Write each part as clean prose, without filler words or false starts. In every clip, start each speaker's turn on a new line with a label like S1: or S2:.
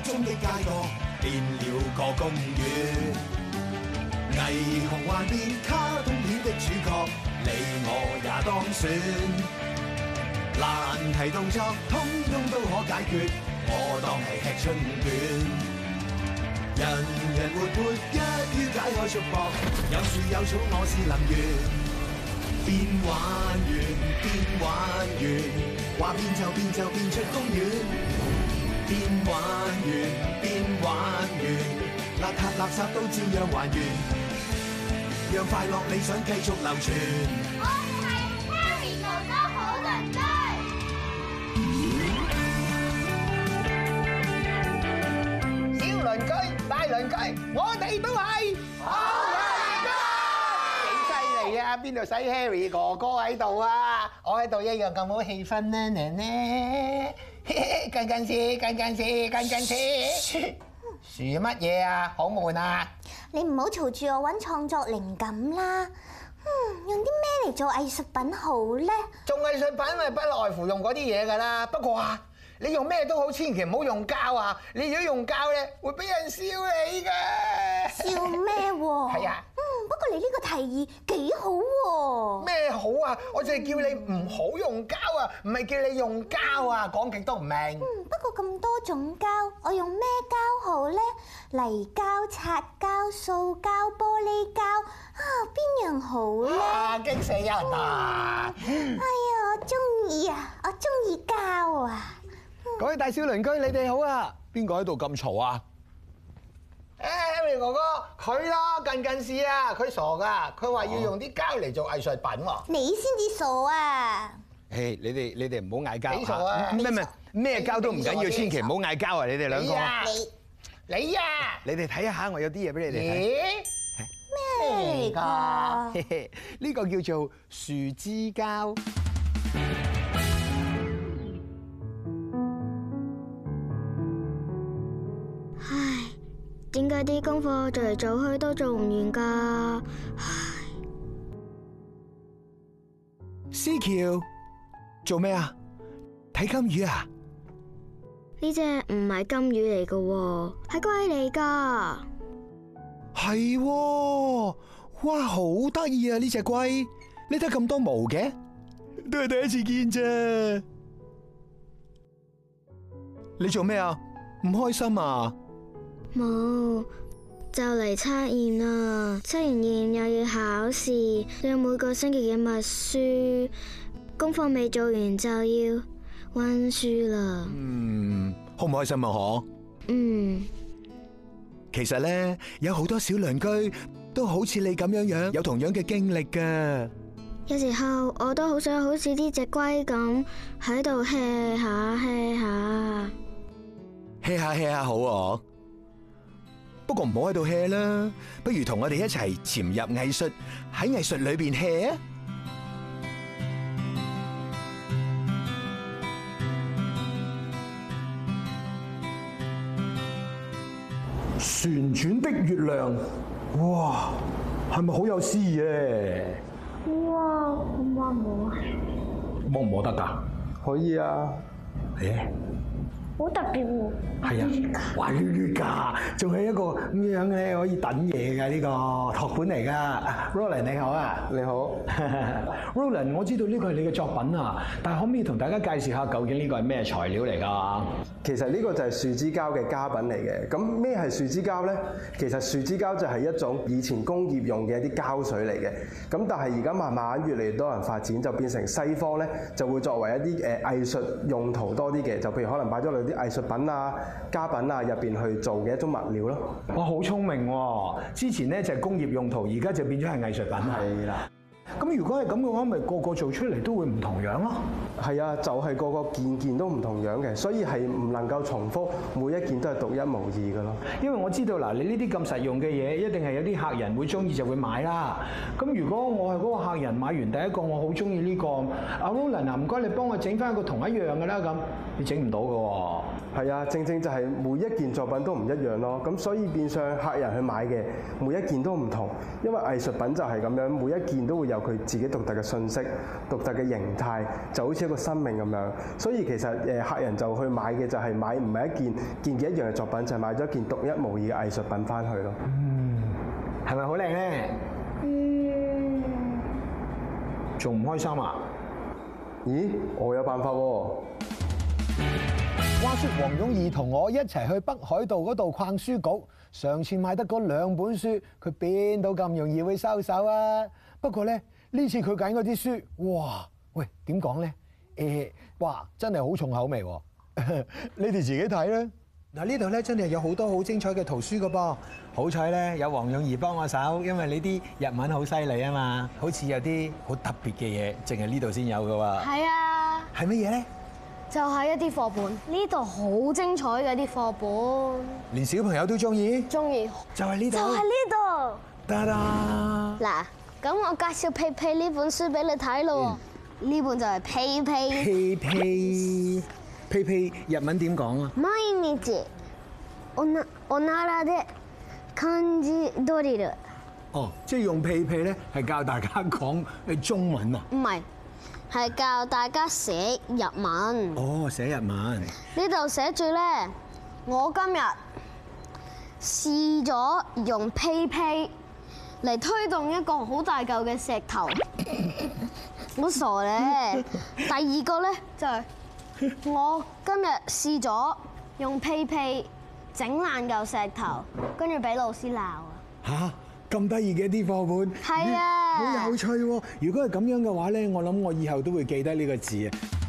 S1: 中的街角變了個公園，霓虹幻變卡通片的主角，你我也當選。難題動作通通都可解決，我當係吃春卷。人人活潑一於解開束縛，有樹有草我是能園。變玩完變玩完，話變就變就變出公園。變玩完變玩完，邋遢垃圾都照樣還原，讓快樂理想繼續流傳。
S2: 我哋係 Harry 哥哥好鄰居。
S3: 小鄰居、大鄰居，我哋都係好鄰居。幾犀利啊！邊度使 Harry 哥哥喺度啊？我喺度一樣咁好氣氛啦，呢？近近視，近近視，近近視。樹乜嘢啊？好悶啊！
S2: 你唔好嘈住我揾創作靈感啦。用啲咩嚟做藝術品好咧？
S3: 做藝術品咪不外乎用嗰啲嘢㗎啦。不過啊，你用咩都好，千祈唔好用膠啊！你如果用膠咧，會俾人笑你㗎。
S2: 笑咩喎？
S3: 係啊。
S2: 不過你呢個提議幾好喎。
S3: 咩好啊？我就係叫你唔好用膠啊，唔係叫你用膠啊，講極都唔明。
S2: 不過咁多種膠，我用咩膠好咧？泥膠、擦膠、塑膠、玻璃膠啊，邊樣好咧？
S3: 啊！激死人啊！
S2: 哎呀，我中意啊，我中意膠啊！
S4: 各位大小鄰居，你哋好啊！邊個喺度咁嘈啊？
S3: Harry 哥哥，佢啦，近近視啊，佢傻噶，佢話要用啲膠嚟做藝術品喎。
S2: 你先至傻啊！
S4: 誒，你哋唔好嗌交。
S3: 幾傻啊？
S4: 咩膠都唔緊要，千祈唔好嗌交啊！你哋兩個。
S3: 你啊！
S4: 你哋睇下，我有啲嘢俾你哋睇。
S2: 咩嚟㗎？
S4: 呢個叫做樹枝膠。
S5: 唉，點解啲功課做嚟做去都做唔完㗎？唉，
S4: 思喬，做咩啊？睇金魚啊？
S5: 呢隻唔係金魚嚟㗎喎，係龜嚟㗎。
S4: 係喎，哇，好得意啊！呢隻龜，你得咁多毛嘅，都係第一次見啫。你做咩啊？唔開心啊？
S5: 冇，就嚟測驗啦，測完驗又要考試，又有每個星期嘅默書，功課未做完就要溫書啦。
S4: 好唔開心啊？嗬。其實咧，有好多小鄰居都好似你咁樣有同樣嘅經歷噶。
S5: 有時候我都好想好似呢隻龜咁喺度 hea 下 hea 下。
S4: hea 下 hea 下好啊，不過唔好喺度 hea 啦，不如同我哋一齊潛入藝術，喺藝術裏邊 hea 啊！
S6: 旋轉的月亮，哇，係咪好有詩意咧？
S2: 哇，摸唔摸啊？
S6: 摸唔摸得㗎？可以啊。
S2: 好特別喎！
S6: 係啊，哇捋捋㗎，仲係一個咁樣咧可以等嘢㗎呢個托盤嚟㗎。Roland 你好啊，你好。Roland， 我知道呢個係你嘅作品啊，但係可唔可以同大家介紹下究竟呢個係咩材料嚟㗎？
S7: 其實呢個就係樹枝膠嘅家品嚟嘅。咁咩係樹枝膠呢？其實樹枝膠就係一種以前工業用嘅一啲膠水嚟嘅。咁但係而家慢慢越嚟越多人發展，就變成西方呢就會作為一啲藝術用途多啲嘅。就譬如可能擺咗落啲藝術品啊、家品啊入邊去做嘅一種物料咯。
S6: 哇，好聰明喎！之前呢就係工業用途，而家就變咗係藝術品。
S7: 係啦。
S6: 咁如果係咁嘅話，咪個個做出嚟都會唔同樣咯。
S7: 係啊，就係個個件件都唔同樣嘅，所以係唔能夠重複，每一件都係獨一無二嘅咯。
S6: 因為我知道嗱，你呢啲咁實用嘅嘢，一定係有啲客人會中意就會買啦。咁如果我係嗰個客人買完第一個，我好中意呢個，阿 Roland 啊，唔該你幫我整翻一個同一樣嘅啦，咁你整唔到嘅喎。
S7: 係啊，正正就係每一件作品都唔一樣咯。咁所以變相客人去買嘅每一件都唔同，因為藝術品就係咁樣，每一件都會有有佢自己獨特嘅信息、獨特嘅形態，就好似一個生命咁樣。所以其實客人就去買嘅就係買唔係一件一樣嘅作品，就係買咗一件獨一無二嘅藝術品翻去咯。
S6: 係咪好靚咧？仲唔開心啊？
S7: 咦，我有辦法喎！
S3: 話說黃勇義同我一齊去北海道嗰度逛書局，上次買得嗰2本書，佢邊度咁容易會收手啊？不過咧，呢次佢揀嗰啲書，哇！喂，點講咧？哇，真係好重口味喎！你哋自己睇啦。
S6: 嗱，呢度咧真係有好多好精彩嘅圖書噶噃，好彩咧有黃勇義幫我手，因為你啲日文好犀利啊嘛，好似有啲好特別嘅嘢，淨係呢度先有噶喎。
S5: 係啊，
S6: 係乜嘢咧？
S5: 就係一啲課本，呢度好精彩嘅啲課本，
S6: 連小朋友都中意，
S5: 中意
S6: 就係呢度，
S5: 就係呢度。
S6: 得啦。
S5: 嗱，咁我介紹屁屁呢本書俾你睇咯。呢本就係屁屁。
S6: 屁屁屁屁日文點講啊？
S5: 毎日おならで漢字ドリル。
S6: 哦，即係用屁屁咧，係教大家講中文啊？
S5: 唔係，係教大家寫日文。
S6: 哦，寫日文。
S5: 呢度寫住咧，我今日試咗用屁屁嚟推動一個好大嚿嘅石頭，好傻咧。第二個咧就係我今日試咗用屁屁整爛嚿石頭，跟住俾老師鬧啊！
S6: 嚇，咁得意嘅啲課本，
S5: 係啊，
S6: 好有趣喎！如果係咁樣嘅話咧，我諗我以後都會記得呢個字啊！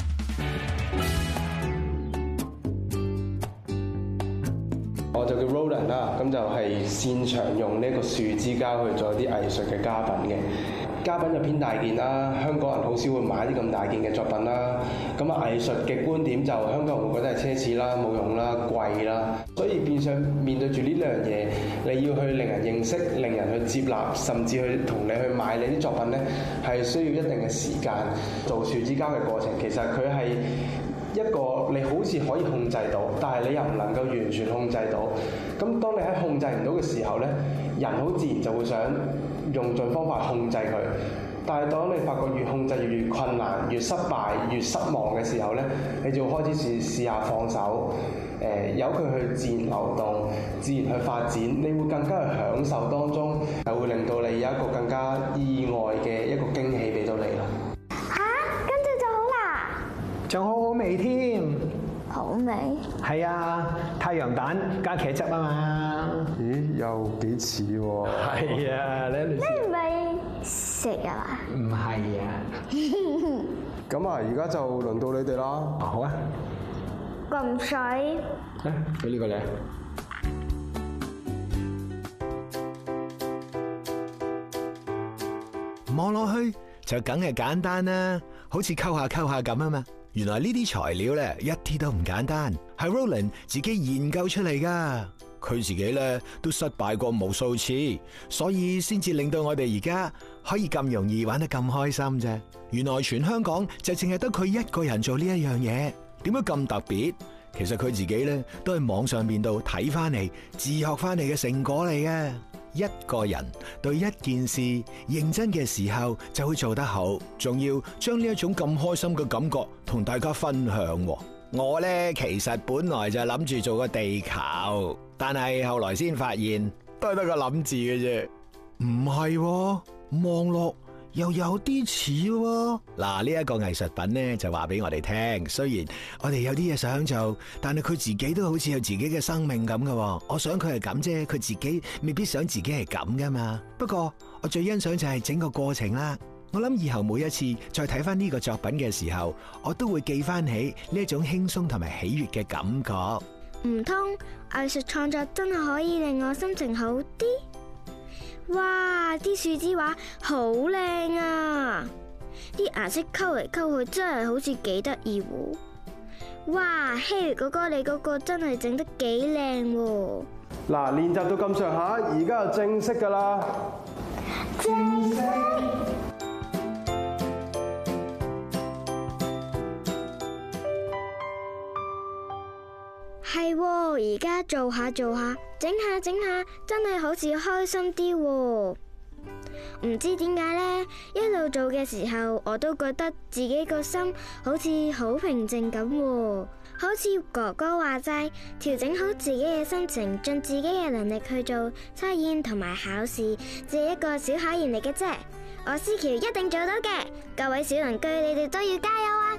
S7: 我就叫 Roland 啦，咁就係擅長用呢個樹枝膠去做一啲藝術嘅家品嘅。家品就偏大件啦，香港人好少會買啲咁大件嘅作品啦。咁啊，藝術嘅觀點就香港人會覺得係奢侈啦、冇用啦、貴啦。所以變相面對住呢兩樣嘢，你要去令人認識、令人去接納，甚至去同你去買你啲作品咧，係需要一定嘅時間。做樹枝膠嘅過程，其實佢係一個你好似可以控制到，但係你又唔能夠完全控制到。咁當你喺控制唔到嘅時候咧，人好自然就會想用盡方法控制佢。但係當你發覺越控制越困難、越失敗、越失望嘅時候咧，你就開始試下放手，由佢去自然流動、自然去發展，你會更加去享受當中，係會令到你有一個更加意外嘅一個驚喜俾到你咯。
S6: 仲好好味添，
S2: 好味。
S6: 係啊，太陽蛋加茄汁啊嘛。
S7: 咦，又幾似喎？
S6: 係啊，你
S2: 你唔係食啊嘛？
S6: 唔係啊。
S7: 咁啊，而家就輪到你哋啦。
S6: 好啊。
S2: 咁水。
S6: 俾呢個你。
S4: 望落去就梗係簡單啦，好似溝下咁啊嘛。原來呢啲材料咧一啲都唔簡單，係 Roland 自己研究出嚟噶。佢自己咧都失敗過無數次，所以先至令到我哋而家可以咁容易玩得咁開心啫。原來全香港就淨係得佢一個人做呢一樣嘢，點解咁特別？其實佢自己咧都喺網上邊度睇翻嚟，自學翻嚟嘅成果嚟嘅。一個人對一件事認真嘅時候就會做得好，仲要將呢一種咁開心嘅感覺同大家分享。我呢，其實本來就諗住做個地球，但係後來先發現都係得個諗字嘅啫。唔係，望落又有啲似喎。嗱，呢一個藝術品呢，就話俾我哋聽，雖然我哋有啲嘢想做，但係佢自己都好似有自己嘅生命咁嘅。我想佢係咁啫，佢自己未必想自己係咁噶嘛。不過我最欣賞就係整個過程啦。我諗以後每一次再睇翻呢個作品嘅時候，我都會記翻起呢一種輕鬆同埋喜悅嘅感覺。
S5: 唔通藝術創作真係可以令我心情好啲？哇！啲樹枝畫好靚啊，啲顏色溝嚟溝去真係好似幾得意喎。哇，Harry哥哥你嗰個真係整得幾靚喎。
S7: 嗱，練習到咁上下，而家就正式㗎啦。正式。
S5: 係喎，而家做下，整下，真係好似開心啲喎。 唔知點解呢，一路做嘅時候，我都覺得自己個心好似好平靜咁喎。好似哥哥話齋，調整好自己嘅心情，盡自己嘅能力去做測驗同埋考試，只係一個小考驗嚟嘅啫。我思喬一定做到嘅，各位小鄰居，你哋都要加油啊！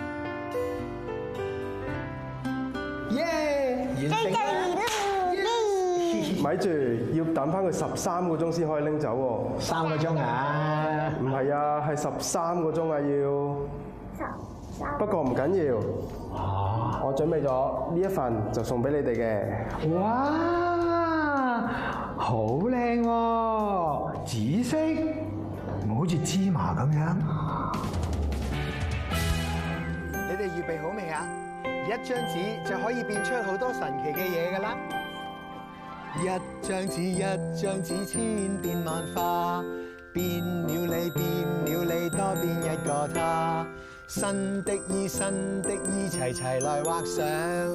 S3: 耶！完成啦！
S7: 咪住，要等翻佢13個鐘先可以拎走喎。
S6: 3個鐘啊？
S7: 唔係啊，係13個鐘啊要。不過唔緊要，我準備咗呢一份就送俾你哋嘅。
S6: 哇，好靚喎，紫色，好似芝麻咁樣。
S3: 你哋預備好未啊？一張紙就可以變出好多神奇嘅嘢㗎啦！一張紙一張紙，千變萬化，變了你變了你，多變一個他。新的衣新的衣，齊齊來畫上，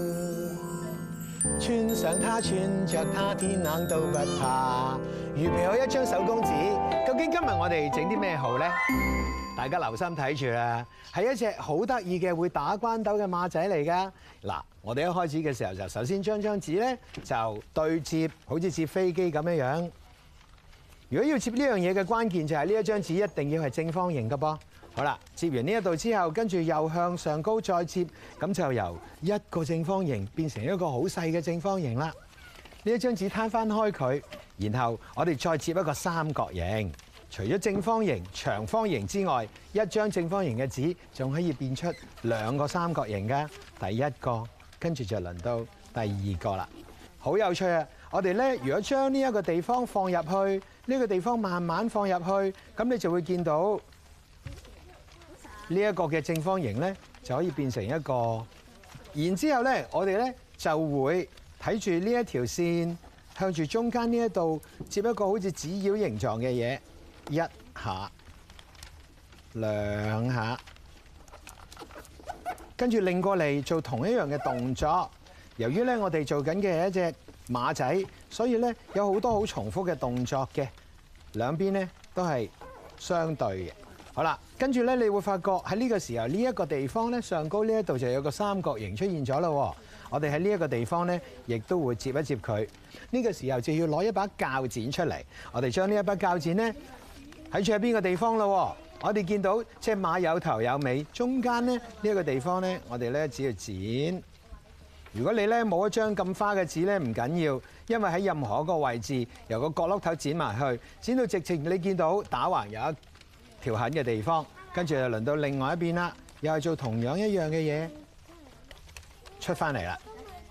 S3: 穿上它穿着它，天冷都不怕。預備好一張手工紙，究竟今日我哋整啲咩好咧？大家留心睇住啦，係一隻好得意嘅會打關鬥嘅馬仔嚟㗎。嗱，我哋一開始嘅時候就首先將張紙咧就對接，好似接飛機咁樣樣。如果要接呢樣嘢嘅關鍵就係呢一張紙一定要係正方形㗎噃。好啦，接完呢一度之後，跟住又向上高再接，咁就由一個正方形變成一個好細嘅正方形啦。呢一張紙攤翻開佢，然後我哋再接一個三角形。除咗正方形、長方形之外，一張正方形嘅紙仲可以變出2個三角形㗎。第一個，跟住就輪到第二個啦。好有趣啊！我哋咧，如果將呢一個地方放入去，呢個地方慢慢放入去，咁你就會見到呢一個嘅正方形咧，就可以變成一個。然之後咧，我哋咧就會睇住呢一條線，向住中間呢一度接一個好似紙鷂形狀嘅嘢。1下、2下，跟住擰過嚟做同一樣嘅動作。由於咧我哋做緊嘅係一隻馬仔，所以咧有好多好重複嘅動作嘅，兩邊咧都係相對嘅。好啦，跟住咧你會發覺喺呢個時候呢一個地方咧上高呢一度就有個三角形出現咗啦。我哋喺呢一個地方咧，亦都會接一接佢。呢個時候就要攞一把鉸剪出嚟，我哋將呢一把鉸剪咧睇住喺邊個地方咯？我哋見到隻馬有頭有尾，中間咧呢一個地方咧，我哋咧只要剪。如果你咧冇一張咁花嘅紙咧，唔緊要，因為喺任何一個位置，由個角落頭剪埋去，剪到直情你見到打橫有一條痕嘅地方，跟住就輪到另外一邊啦，又係做同樣一樣嘅嘢，出翻嚟啦。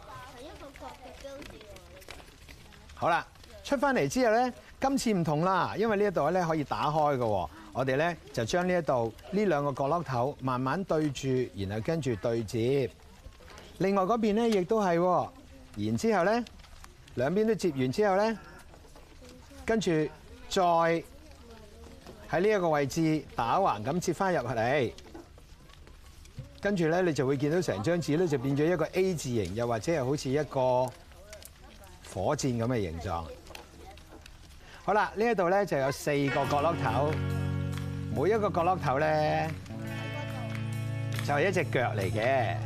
S3: 好啦，出翻嚟之後咧。今次唔同啦，因為呢一度咧可以打開嘅，我哋咧就將呢一度呢兩個角落頭慢慢對住，然後跟住對接。另外嗰邊咧亦都係，然之後咧兩邊都接完之後咧，跟住再喺呢一個位置打橫咁接翻入嚟，跟住咧你就會見到成張紙咧就變咗一個 A 字形，又或者係好似一個火箭咁嘅形狀。好啦，呢一度咧就有4個角落頭，每一個角落頭咧就係一隻腳嚟嘅。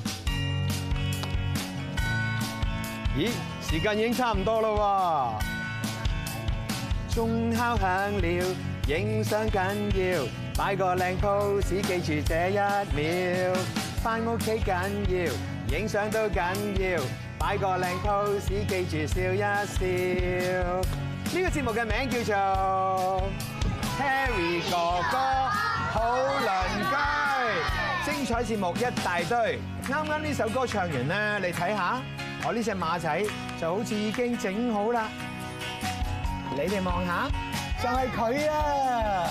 S3: 咦，時間已經差唔多啦喎！鐘敲響了，影相緊要，擺個靚 pose，記住這1秒。返屋企緊要，影相都緊要，擺個靚 pose，記住笑一笑。呢個節目嘅名叫做 Harry 哥哥好鄰居，精彩節目一大堆。啱啱呢首歌唱完咧，你睇下，我呢隻馬仔就好似已經整好啦。你哋望下，就係佢啊！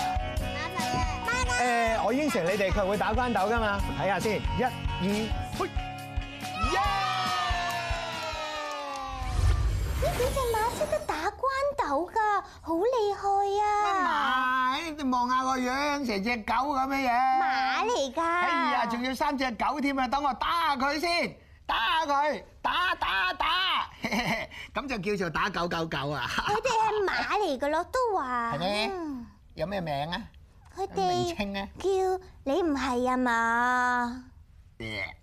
S3: 我應承你哋，佢會打關鬥㗎嘛？睇下先，1、2，去！
S2: 呢隻馬識得打關鬥㗎，好厲害啊！
S3: 乜你望下個樣，成隻狗咁嘅樣。
S2: 馬嚟㗎。
S3: 哎呀，仲要3隻狗添啊！等我打下佢先，打下佢，打，咁就叫做打999啊！
S2: 佢哋係馬嚟㗎咯，都話。
S3: 係咩？ 有咩名啊？
S2: 佢
S3: 名
S2: 哋
S3: 稱啊？
S2: 叫你唔係啊嘛？